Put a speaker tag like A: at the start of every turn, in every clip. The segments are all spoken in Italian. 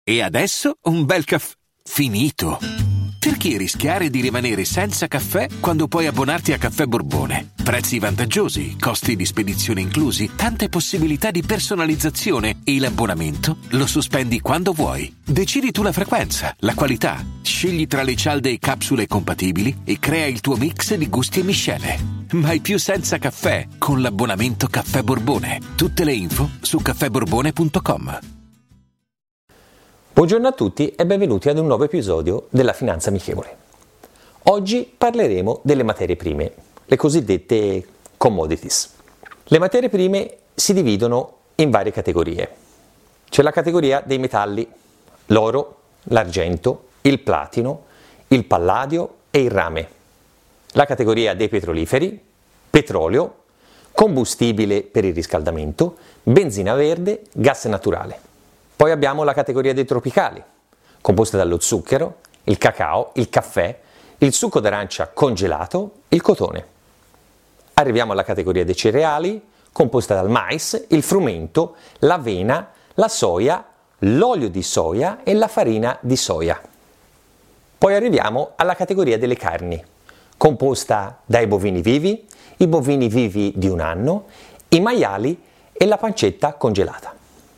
A: E adesso un bel caffè finito. Perché rischiare di rimanere senza caffè quando puoi abbonarti a Caffè Borbone? Prezzi vantaggiosi, costi di spedizione inclusi, tante possibilità di personalizzazione e l'abbonamento lo sospendi quando vuoi. Decidi tu la frequenza, la qualità, scegli tra le cialde e capsule compatibili e crea il tuo mix di gusti e miscele. Mai più senza caffè con l'abbonamento Caffè Borbone. Tutte le info su caffèborbone.com.
B: Buongiorno a tutti e benvenuti ad un nuovo episodio della Finanza Amichevole. Oggi parleremo delle materie prime, le cosiddette commodities. Le materie prime si dividono in varie categorie. C'è la categoria dei metalli, l'oro, l'argento, il platino, il palladio e il rame. La categoria dei petroliferi, petrolio, combustibile per il riscaldamento, benzina verde, gas naturale. Poi abbiamo la categoria dei tropicali, composta dallo zucchero, il cacao, il caffè, il succo d'arancia congelato, il cotone. Arriviamo alla categoria dei cereali, composta dal mais, il frumento, l'avena, la soia, l'olio di soia e la farina di soia. Poi arriviamo alla categoria delle carni, composta dai bovini vivi, i bovini vivi di un anno, i maiali e la pancetta congelata.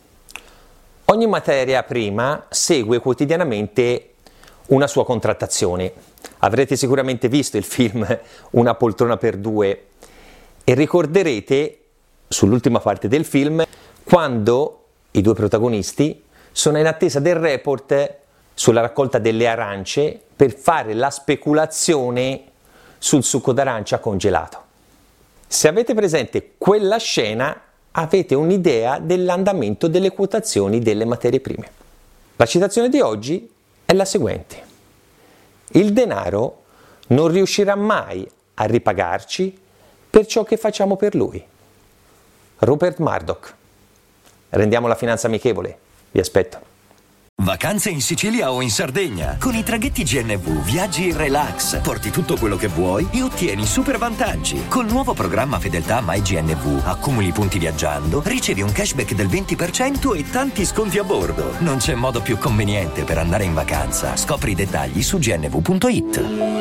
B: Ogni materia prima segue quotidianamente una sua contrattazione. Avrete sicuramente visto il film Una poltrona per due e ricorderete sull'ultima parte del film quando i due protagonisti sono in attesa del report sulla raccolta delle arance per fare la speculazione sul succo d'arancia congelato. Se avete presente quella scena, avete un'idea dell'andamento delle quotazioni delle materie prime. La citazione di oggi è la seguente: il denaro non riuscirà mai a ripagarci per ciò che facciamo per lui. Rupert Murdoch. Rendiamo la finanza amichevole. Vi aspetto.
C: Vacanze in Sicilia o in Sardegna. Con i traghetti GNV viaggi in relax, porti tutto quello che vuoi e ottieni super vantaggi. Col nuovo programma Fedeltà MyGNV accumuli punti viaggiando, ricevi un cashback del 20% e tanti sconti a bordo. Non c'è modo più conveniente per andare in vacanza. Scopri i dettagli su gnv.it.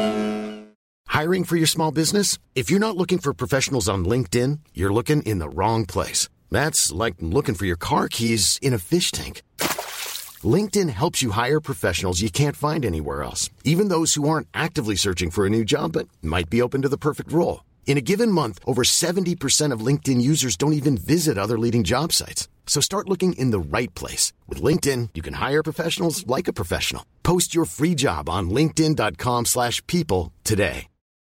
D: Hiring for your small business? If you're not looking for professionals on LinkedIn, you're looking in the wrong place. That's like looking for your car keys in a fish tank. LinkedIn helps you hire professionals you can't find anywhere else, even those who aren't actively searching for a new job but might be open to the perfect role. In a given month, over 70% of LinkedIn users don't even visit other leading job sites. So start looking in the right place. With LinkedIn, you can hire professionals like a professional. Post your free job on linkedin.com/people today.